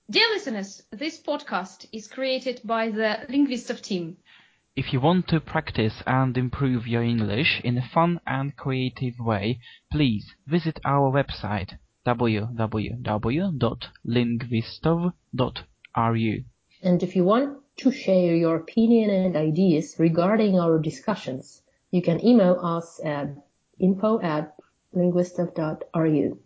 Dear listeners, this podcast is created by the Linguistov team. If you want to practice and improve your English in a fun and creative way, please visit our website www.linguistov.ru. And if you want to share your opinion and ideas regarding our discussions, you can email us at info@linguistov.ru.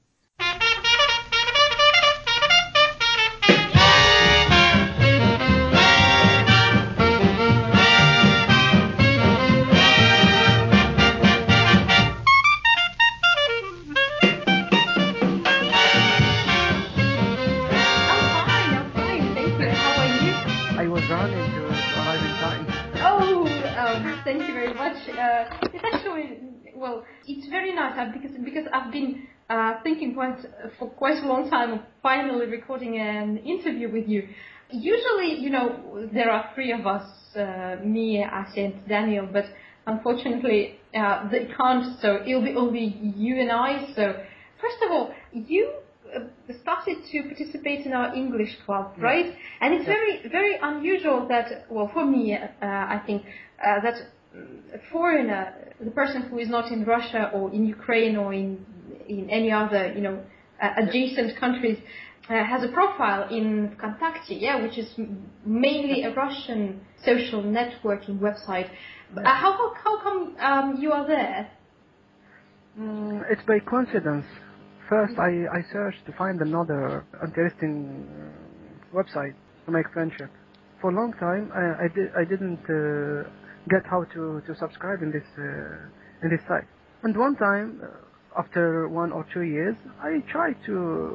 Thank you very much. It's actually, it's very nice because I've been thinking for quite a long time of finally recording an interview with you. Usually, there are three of us, me, Asya, and Daniel, but unfortunately, they can't, so it'll be only you and I. So, first of all, you started to participate in our English club, right? And it's very, very unusual that, for me, I think, that a foreigner, the person who is not in Russia or in Ukraine or in any other, adjacent countries, has a profile in VKontakte, which is mainly a Russian social networking website. How come you are there? It's by coincidence. First, I searched to find another interesting website to make friendship. For a long time, I didn't get how to subscribe in this site. And one time, after 1 or 2 years, I tried to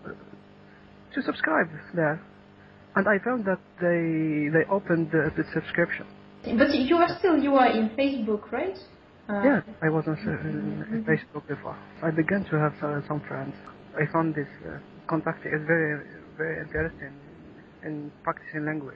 subscribe there, and I found that they opened the subscription. But you are in Facebook, right? Yeah, I was on Facebook before. I began to have some friends. I found this contact is very, very interesting in practicing language.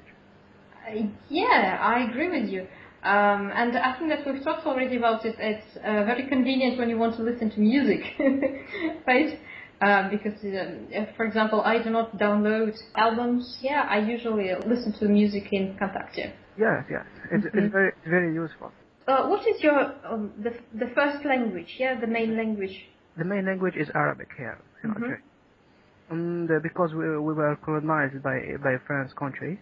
Yeah, I agree with you. And I think that we've talked already about it. It's very convenient when you want to listen to music, right? Because, for example, I do not download albums. Yeah, I usually listen to music in VKontakte. Yes. It's very, very useful. What is your the first language? Yeah, the main language. The main language is Arabic here in Algeria, and because we were colonized by France country,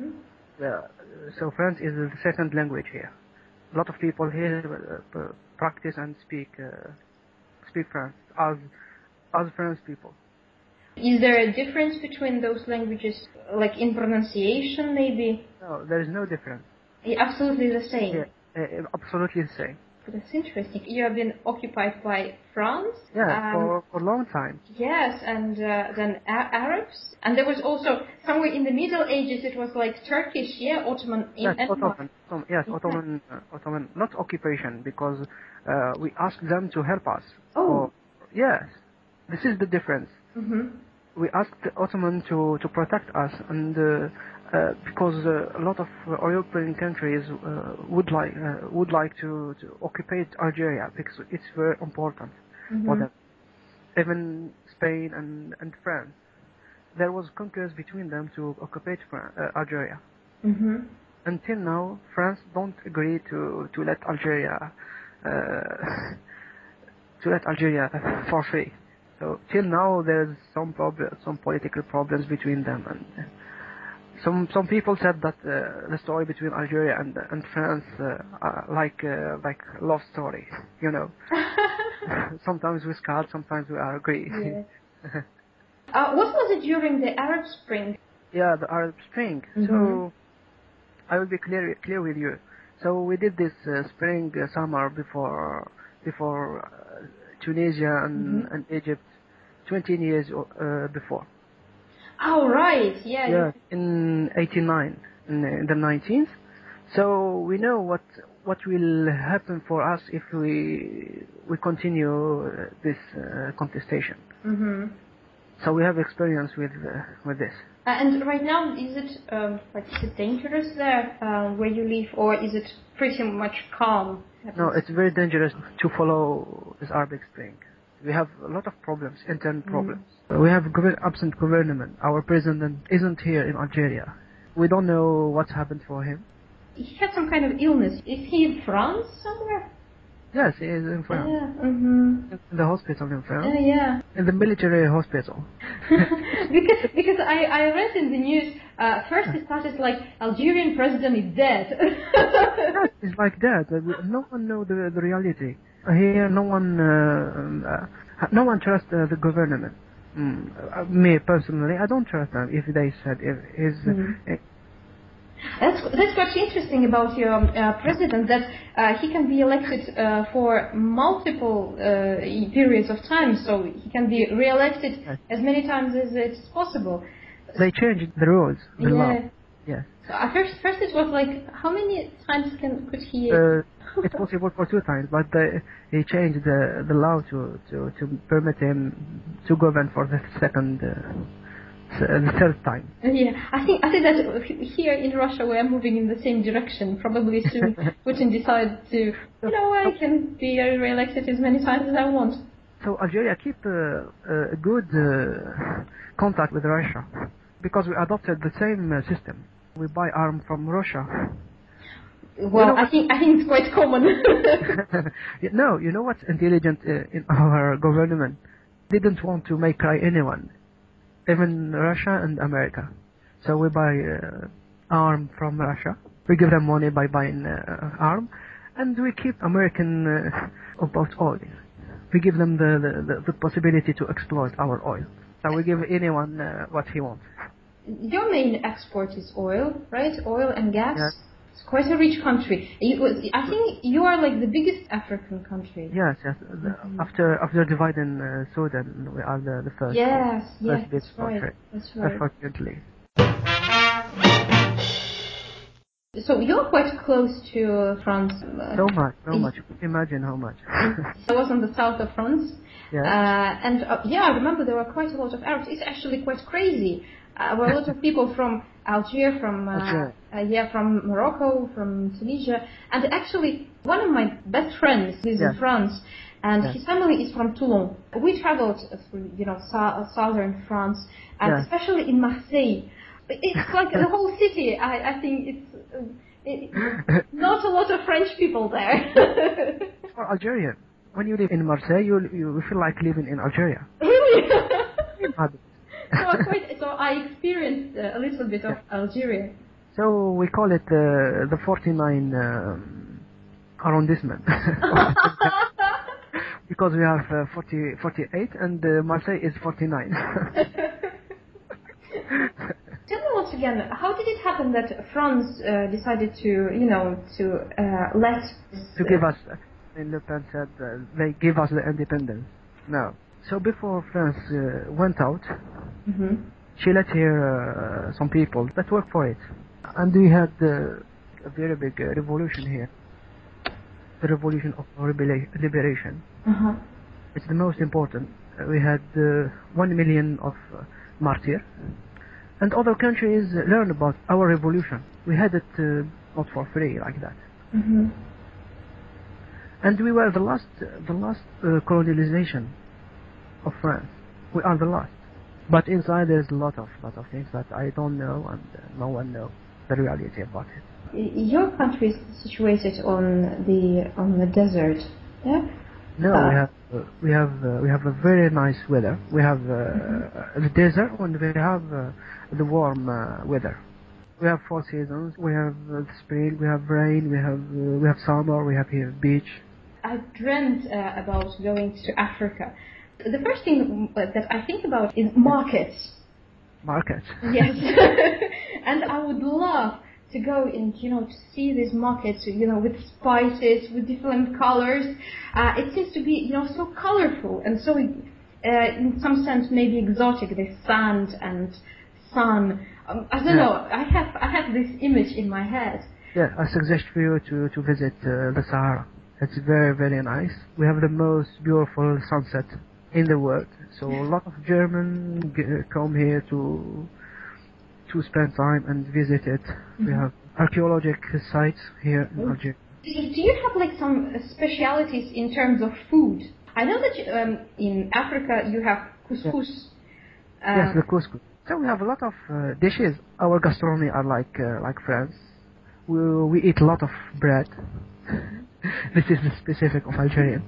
so French is the second language here. A lot of people here practice and speak French as French people. Is there a difference between those languages, like in pronunciation, maybe? No, there is no difference. Absolutely the same. Yeah. Absolutely the same. That's interesting. You have been occupied by France? Yeah, for a long time. Yes, and then Arabs. And there was also, somewhere in the Middle Ages, it was like Turkish, Ottoman Empire. Ottoman, not occupation, because we asked them to help us. Oh. Yes, this is the difference. We asked the Ottoman to protect us, and because a lot of European countries would like to occupy Algeria because it's very important for them. Even Spain and France, there was conquest between them to occupy Algeria. Until now, France don't agree to let Algeria for free. So till now, there's some political problems between them, and some people said that the story between Algeria and France like love story, Sometimes we scout, sometimes we agree. Yeah. What was it during the Arab Spring? Yeah, the Arab Spring. So I will be clear with you. So we did this summer before Tunisia and Egypt 20 years before. Oh, right, yeah. Yeah, in 89, in the 19th. So we know what will happen for us if we continue this contestation. So we have experience with this. And right now, is it dangerous there where you live, or is it pretty much calm? No, it's very dangerous to follow this Arabic Spring. We have a lot of problems, internal problems. We have absent government. Our president isn't here in Algeria. We don't know what's happened for him. He had some kind of illness. Is he in France somewhere? Yes, he is in France. Yeah. In the hospital in France. Yeah. In the military hospital. because I read in the news, first it started like Algerian president is dead. Yes, it's like that. No one knows the reality. Here, no one trusts the government. Me personally, I don't trust them if they said if his. That's what's interesting about your president, that he can be elected for multiple periods of time, so he can be re-elected as many times as it's possible. They changed the rules, the law. Yes. So first it was like, how many times could he? It's possible for 2 times, but he changed the law to permit him to govern for the third time. Yeah, I think that here in Russia we are moving in the same direction. Probably soon Putin decides to, I can be re-elected as many times as I want. So Algeria keep a good contact with Russia because we adopted the same system. We buy arms from Russia. Well, I think it's quite common. No, you know what's intelligent in our government? Didn't want to make cry anyone. Even Russia and America. So we buy arm from Russia. We give them money by buying arm, and we keep American about oil. We give them the possibility to exploit our oil. So we give anyone what he wants. Your main export is oil, right? Oil and gas. Yes. It's quite a rich country. I think you are like the biggest African country. Yes. After dividing Sudan, we are the first. Yes, big country. That's right. Unfortunately. So you're quite close to France. So much. Imagine how much. I was on the south of France. Yes. I remember there were quite a lot of Arabs. It's actually quite crazy. There were a lot of people from Algeria, from Morocco, from Tunisia, and actually one of my best friends is in France, and his family is from Toulon. We traveled through, southern France, and especially in Marseille. It's like the whole city. I think it's not a lot of French people there. For Algerian, when you live in Marseille, you feel like living in Algeria. Really? So I experienced a little bit of Algeria. So we call it the 49 arrondissement. Because we have 48 and Marseille is 49. Tell me once again, how did it happen that France decided to let... To give us, Le Pen said they give us the independence. No. So before France went out, she let here some people that work for it. And we had a very big revolution here. The revolution of liberation. It's the most important. We had 1 million of martyrs. And other countries learned about our revolution. We had it not for free like that. And we were the last colonialization of France. We are the last. But inside there's a lot of things that I don't know and no one knows the reality about it. Your country is situated on the desert, yeah? No, we have a very nice weather. We have the desert and we have the warm weather. We have 4 seasons. We have spring, we have rain, we have summer, we have here beach. I dreamt about going to Africa. The first thing that I think about is markets. Markets? Yes. And I would love to go and, to see these markets, with spices, with different colors. It seems to be, so colorful and so, in some sense, maybe exotic, the sand and sun. I don't know. I have this image in my head. Yeah, I suggest for you to visit the Sahara. It's very, very nice. We have the most beautiful sunset in the world. So a lot of Germans come here to spend time and visit it. We have archaeological sites here in Algeria. Do you have like some specialities in terms of food? I know that in Africa you have couscous. Yes, the couscous. So we have a lot of dishes. Our gastronomy are like France. We eat a lot of bread. This is the specific of Algerian.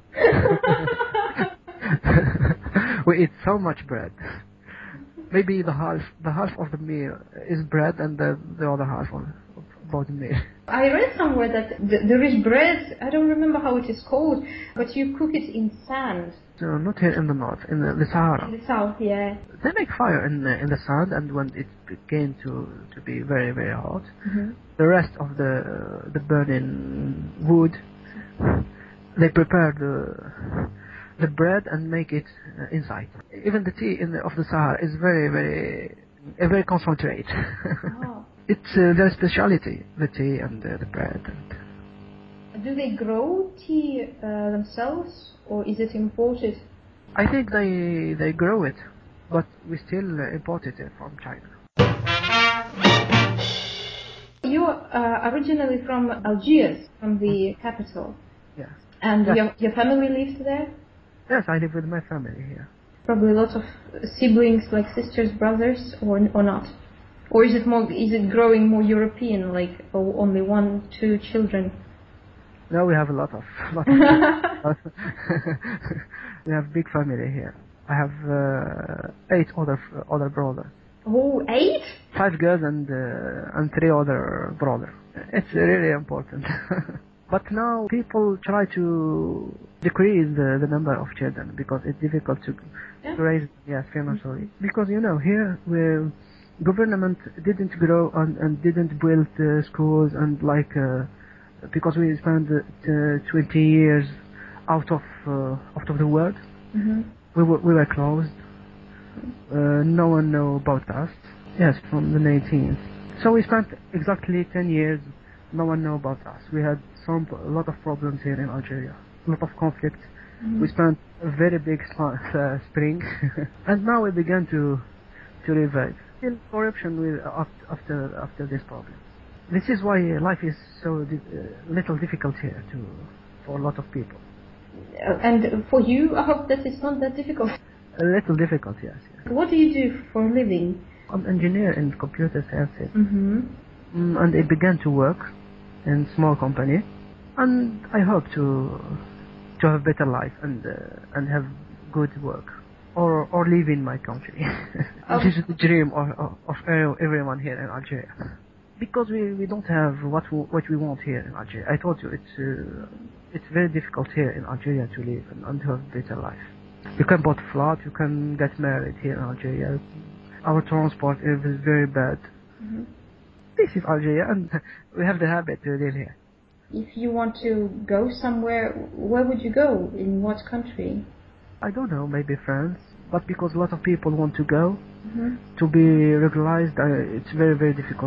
We eat so much bread. Maybe the half of the meal is bread, and the other half about the meal. I read somewhere that there is bread. I don't remember how it is called, but you cook it in sand. So not here in the north, in the Sahara. In the south, yeah. They make fire in the sand, and when it began to be very very hot, the rest of the burning wood, they prepare the bread and make it inside. Even the tea of the Sahara is very concentrated. Oh. It's their specialty, the tea and the bread. Do they grow tea themselves, or is it imported? I think they grow it, but we still import it from China. You are originally from Algiers, from the capital. Yeah. And yes. your family lives there? Yes, I live with my family here. Probably a lot of siblings, like sisters, brothers, or not? Or is it growing more European, like only 1-2 children? No, we have a lot of children. We have big family here. I have 8 other brothers. Oh, 8? 5 girls and 3 other brothers. It's really important. But now people try to decrease the number of children because it's difficult to raise financially. Because here where government didn't grow and didn't build schools and because we spent 20 years out of the world. We were closed. No one knew about us. Yes, from the 19th. So we spent exactly 10 years. No one knew about us. We had a lot of problems here in Algeria. A lot of conflict. We spent a very big spring, and now we began to revive. Still corruption after this problem. This is why life is so little difficult here for a lot of people. And for you, I hope that it's not that difficult. A little difficult, yes. What do you do for a living? I'm an engineer in computer sciences. And I began to work in small company, and I hope to have better life and have good work or live in my country. This is the dream of everyone here in Algeria. Because we don't have what we want here in Algeria. I told you it's very difficult here in Algeria to live and to have better life. You can buy a flat, you can get married here in Algeria. Our transport is very bad. This is Algeria, and we have the habit to live here. If you want to go somewhere, where would you go? In what country? I don't know, maybe France. But because a lot of people want to go, to be regularized, it's very, very difficult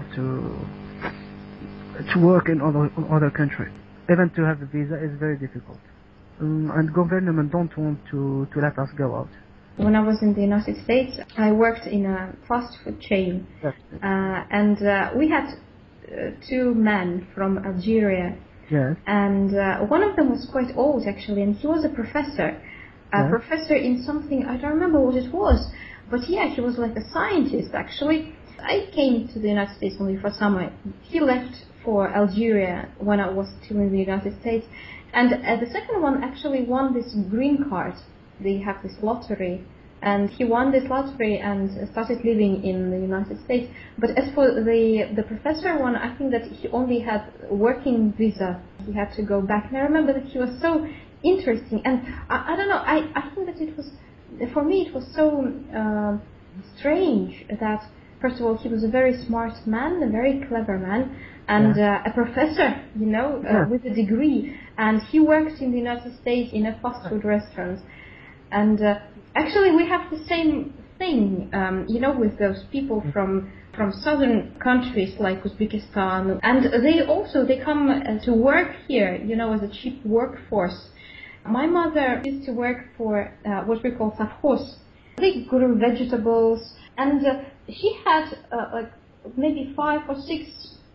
to work in other countries. Even to have a visa is very difficult. And government don't want to let us go out. When I was in the United States, I worked in a fast food chain. Yes. And we had 2 men from Algeria. Yes. And one of them was quite old, actually, and he was a professor. A professor in something, I don't remember what it was. But he was like a scientist, actually. I came to the United States only for summer. He left for Algeria when I was still in the United States. And the second one actually won this green card. They have this lottery, and he won this lottery and started living in the United States. But as for the professor one, I think that he only had working visa. He had to go back. And I remember that he was so interesting. And I don't know, I think that it was, for me, it was so strange that, first of all, he was a very smart man, a very clever man, and a professor, with a degree. And he works in the United States in a fast food restaurant. And actually, we have the same thing, with those people from southern countries like Uzbekistan. And they come to work here, as a cheap workforce. My mother used to work for what we call savkhoz. They grew vegetables, and she had maybe 5 or 6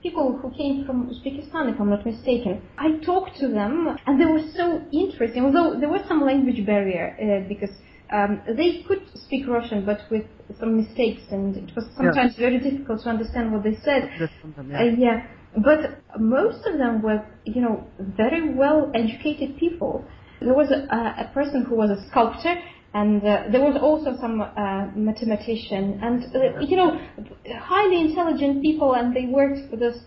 people who came from Uzbekistan, if I'm not mistaken. I talked to them, and they were so interesting, although there was some language barrier, because they could speak Russian, but with some mistakes, and it was sometimes very difficult to understand what they said. Yeah. But most of them were, very well-educated people. There was a person who was a sculptor, and there was also some mathematician, and highly intelligent people, and they worked for this,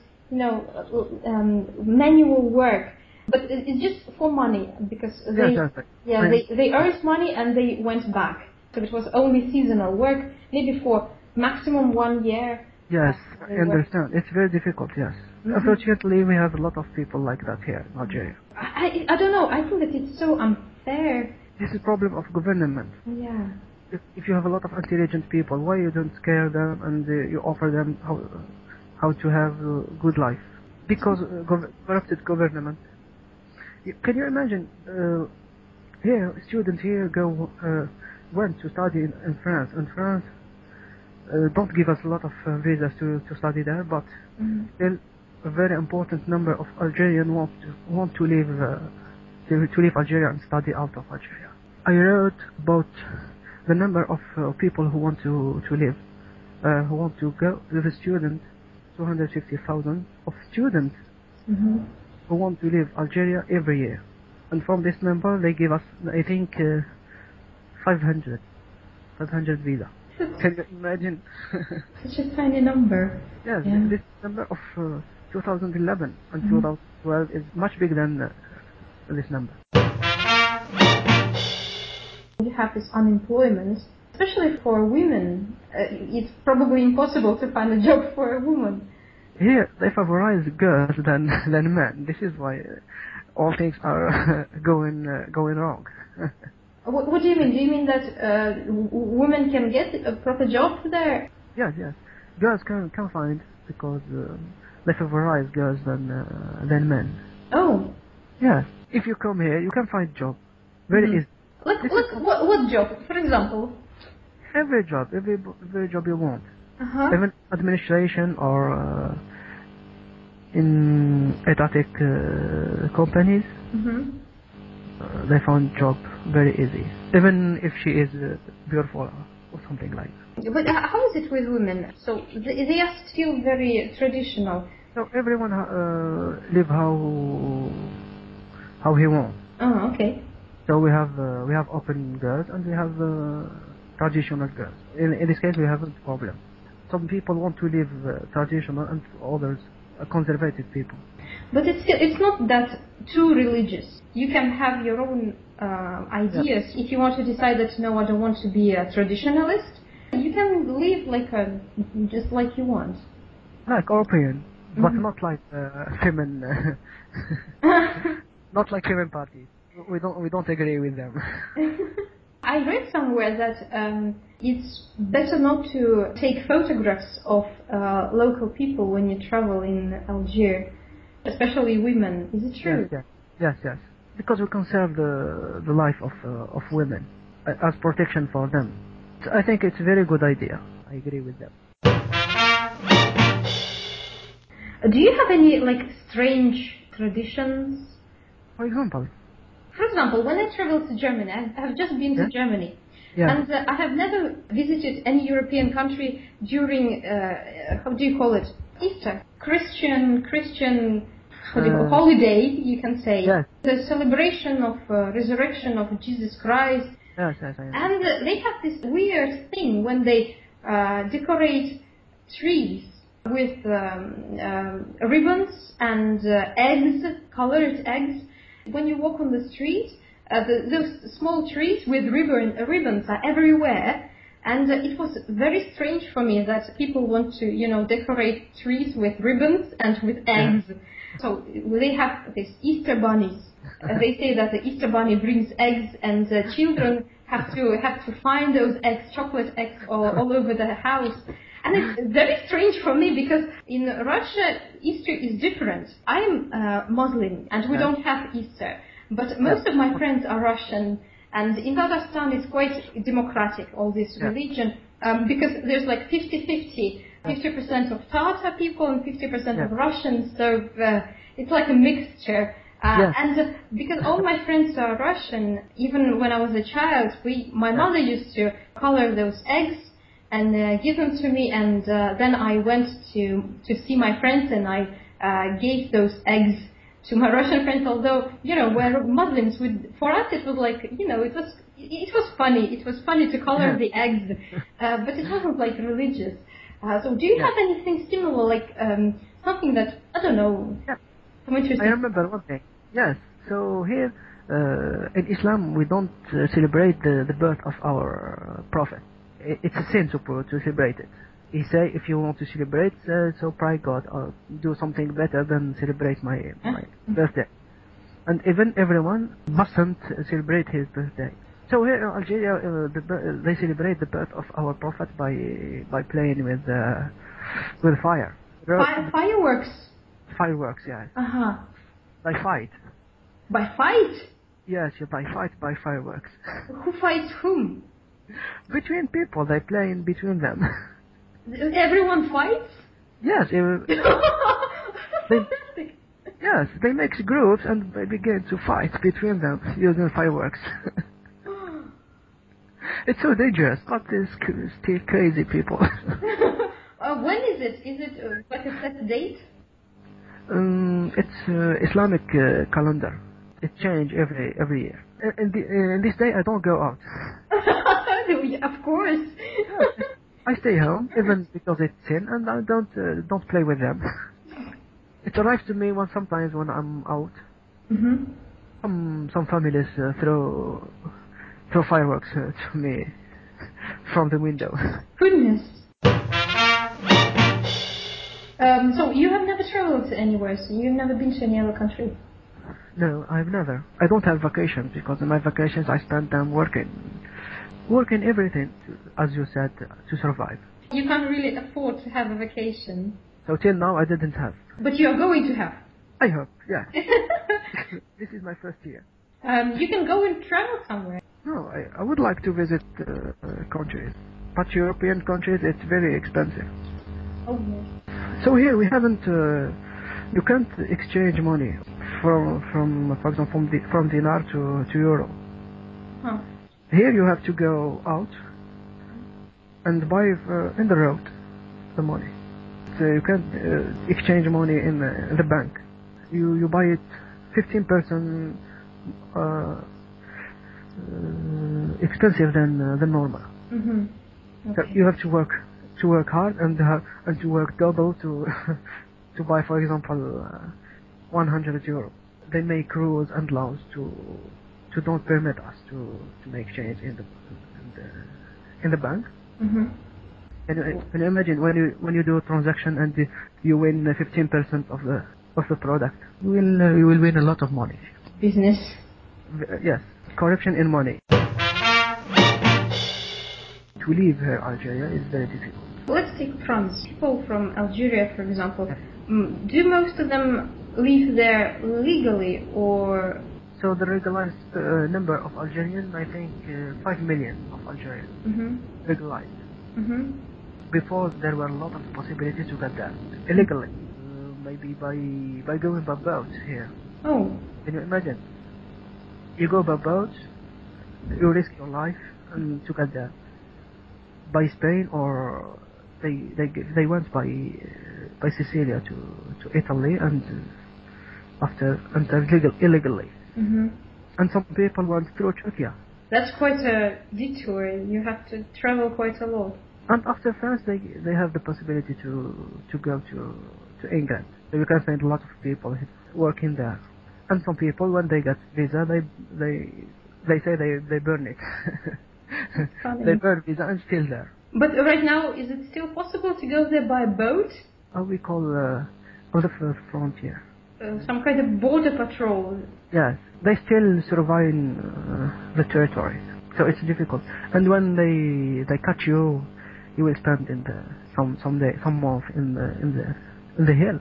manual work. But it's just for money, because they earned money and they went back. So it was only seasonal work, maybe for maximum 1 year. Yes, I understand. It's very difficult, yes. Mm-hmm. Unfortunately, we have a lot of people like that here in Algeria. I don't know, I think that it's so unfair. This is a problem of government. Yeah. If you have a lot of intelligent people, why you don't scare them and you offer them how to have a good life? Because corrupted government. Can you imagine, here, a student here went to study in France, and France don't give us a lot of visas to study there, but still a very important number of Algerians want to leave Algeria and study out of Algeria. I wrote about the number of people who want to live, who want to go with a student, 250,000 of students who want to leave Algeria every year. And from this number they give us, I think, 500 visa. Can you imagine? Such a tiny number. Yes, this number of 2011 and 2012 is much bigger than this number. You have this unemployment, especially for women. It's probably impossible to find a job for a woman. Here they favorize girls than men. This is why all things are going wrong. What do you mean? Do you mean that women can get a proper job there? Yes. Girls can find, because they favorize girls than men. Oh. Yes. If you come here, you can find job. Very easy. What job? For example? Every job you want. Even administration or in etatic companies. They found job very easy, even if she is beautiful or something like that. But how is it with women? So they are still very traditional. So everyone live how he wants. Oh, okay. So we have open girls and we have traditional girls. In this case, we have a problem. Some people want to live traditional, and others conservative people. But it's not that too religious. You can have your own ideas. If you want to decide that, no, I don't want to be a traditionalist, you can live just like you want. Like European, but not like women. Not like women parties. We don't agree with them. I read somewhere that it's better not to take photographs of local people when you travel in Algiers, especially women. Is it true? Yes. Because we conserve the life of women as protection for them. So I think it's a very good idea. I agree with them. Do you have any strange traditions? For example, when I traveled to Germany, I have just been to Germany, and I have never visited any European country during, how do you call it, Easter, Christian holiday, you can say, the celebration of resurrection of Jesus Christ. Yes. And they have this weird thing when they decorate trees with ribbons and eggs, colored eggs. When you walk on the street, those small trees with ribbons are everywhere, and it was very strange for me that people want to, decorate trees with ribbons and with eggs. So they have these Easter bunnies. They say that the Easter bunny brings eggs, and children have to find those eggs, chocolate eggs, all over the house. And it's very strange for me because in Russia, Easter is different. I'm Muslim and we don't have Easter. But most of my friends are Russian. And in Kazakhstan, it's quite democratic, all this religion, because there's 50-50 50% of Tatar people and 50% of Russians, so it's like a mixture. And because all my friends are Russian, even when I was a child, my mother used to color those eggs and give them to me, and then I went to see my friends, and I gave those eggs to my Russian friends. Although we're Muslims, for us it was like it was funny. It was funny to color the eggs, but it wasn't like religious. So do you have anything similar, like something that I don't know? Some interesting. I remember one thing. Yes. So here in Islam we don't celebrate the birth of our prophet. It's a sin to celebrate it. He say if you want to celebrate, so pray God or do something better than celebrate my birthday. And even everyone mustn't celebrate his birthday. So here in Algeria, they celebrate the birth of our prophet by playing with fire. Fireworks. Fireworks, yes. By fight. By fight? Yes, by fireworks. Who fights whom? Between people, they play in between them. Everyone fights? Yes. They make groups and they begin to fight between them using fireworks. It's so dangerous, but it's still crazy people. When is it? Is it like a set date? It's Islamic calendar. It changes every year. In this day, I don't go out. Of course. I stay home, even because it's sin, and I don't play with them. It arrives to me sometimes when I'm out. Some families throw fireworks to me from the window. Goodness. So you have never traveled anywhere, so you've never been to any other country? No, I've never. I don't have vacations, because in my vacations I spend them working everything, as you said, to survive. You can't really afford to have a vacation. So till now I didn't have. But you are going to have? I hope, yeah. This is my first year. You can go and travel somewhere. No, I would like to visit countries. But European countries, it's very expensive. Oh, yes. So here we haven't, you can't exchange money for example, from dinar to euro. Here you have to go out and buy in the road the money. So you can't exchange money in the bank. You buy it 15% expensive than normal. Okay. So you have to work hard and to work double to buy, for example, 100 euro. They make rules and laws to don't permit us to make change in the bank. Can you imagine when you do a transaction and you win 15% of the product? You will win a lot of money. Business. Yes, corruption in money. To leave here, Algeria is very difficult. Let's take France. People from Algeria, for example, do most of them live there legally, or? So the regularized number of Algerians, I think 5 million of Algerians regularized. Before there were a lot of possibilities to get that illegally, maybe by going by boat here. Oh. Can you imagine? You go by boat, you risk your life to get there. By Spain, or they went by Sicilia to Italy and illegally. And some people went through Turkey. That's quite a detour. You have to travel quite a lot. And after France, they have the possibility to go to England. So you can find a lot of people working there. And some people, when they get visa, they say they burn it. They burn visa and still there. But right now, is it still possible to go there by boat? We call on the frontier. Some kind of border patrol. Yes, they still survive the territory, so it's difficult. And when they catch you, you will spend in some month in the hill.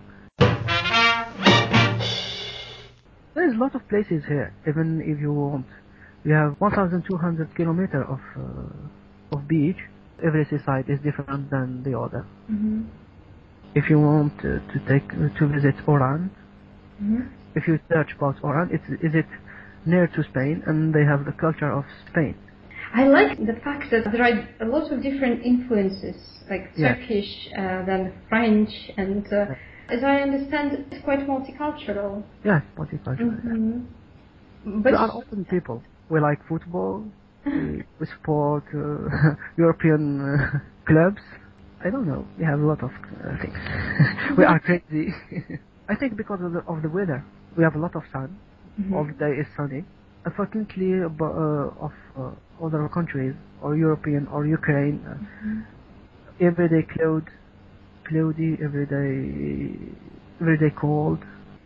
There's a lot of places here. Even if you want, we have 1,200 kilometers of beach. Every seaside is different than the other. Mm-hmm. If you want to visit Oran, Mm-hmm. if you search about Oran, is it near to Spain, and they have the culture of Spain. I like the fact that there are a lot of different influences, like Yeah. Turkish, then French, and as I understand, it's quite multicultural. Yeah, multicultural. Mm-hmm. We are open people. We like football. We support European clubs. I don't know. We have a lot of things. We are crazy. I think because of the weather. We have a lot of sun. Mm-hmm. All the day is sunny. Unfortunately, of other countries or European or Ukraine, every day cloudy, every day cold.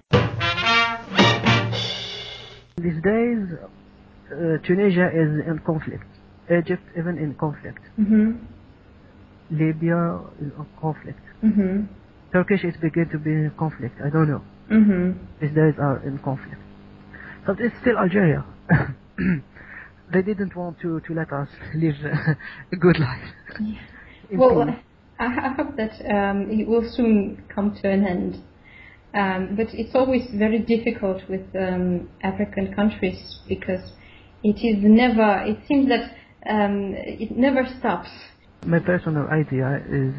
These days, Tunisia is in conflict. Egypt even in conflict. Mm-hmm. Libya is in conflict. Mm-hmm. Turkish is beginning to be in conflict. I don't know. Mm-hmm. These days are in conflict. But it's still Algeria. They didn't want to let us live a good life. Yeah. In Well, peace. I hope that it will soon come to an end. But it's always very difficult with African countries because it seems that it never stops. My personal idea is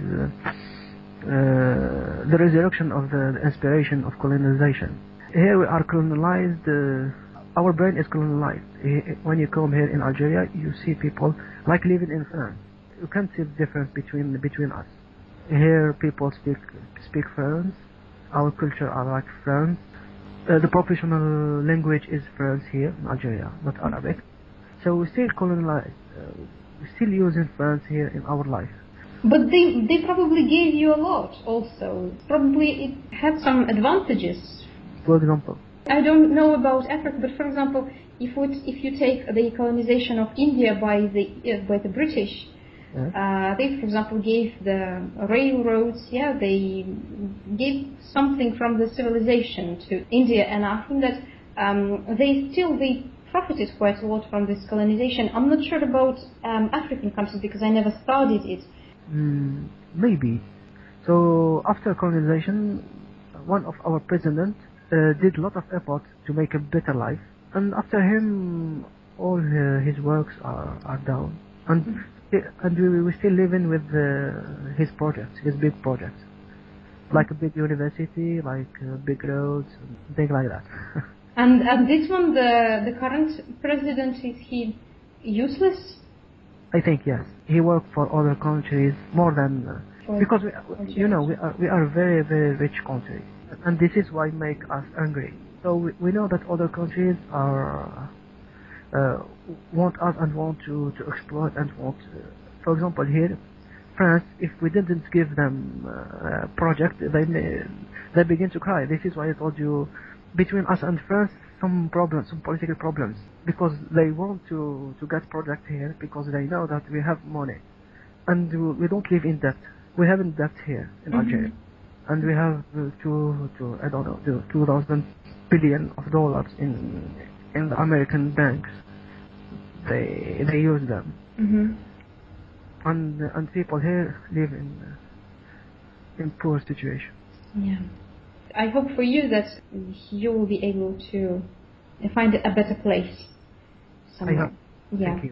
the resurrection of the inspiration of colonization. Here we are colonized, our brain is colonized. When you come here in Algeria, you see people like living in France. You can't see the difference between us. Here people speak French. Our culture are like French. The professional language is French here in Algeria, not Arabic. So we still colonized. We're still using French here in our life. But they probably gave you a lot also. Probably it had some advantages. For example, I don't know about Africa, but for example, if you take the colonization of India by the British, they, for example, gave the railroads. Yeah, they gave something from the civilization to India, and I think that they profited quite a lot from this colonization. I'm not sure about African countries because I never studied it. Maybe. So after colonization, one of our presidents did a lot of effort to make a better life, and after him, all his works are down, and we still living with his projects, his big projects, like a big university, like big roads, and things like that. And this one, the current president, is he useless? I think yes. He worked for other countries more than because we are a very very rich country, and this is why make us angry. So we know that other countries are want us and want to exploit and want. For example, here, France, if we didn't give them a project, they begin to cry. This is why I told you between us and France some problems, some political problems, because they want to get project here because they know that we have money, and we don't live in debt. We haven't debt here in Algeria, and we have I don't know, 2,000 billion of dollars in the American banks. They use them, and people here live in poor situation. Yeah. I hope for you that you will be able to find a better place somewhere. I hope. Yeah. Thank you.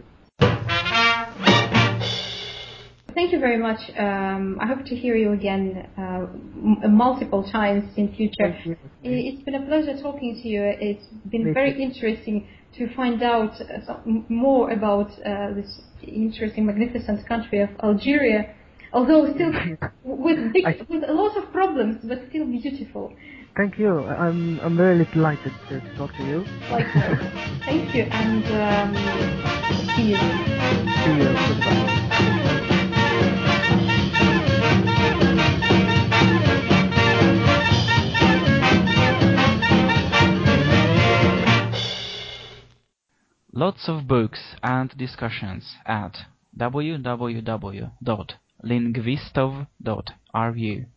Thank you very much. I hope to hear you again multiple times in future. Thank you. It's been a pleasure talking to you. It's been very interesting to find out more about this interesting, magnificent country of Algeria. Although still with a lot of problems, but still beautiful. Thank you. I'm really delighted to talk to you. Likewise. Thank you, and see you. See you. Goodbye. Lots of books and discussions at www.lingvistov.ru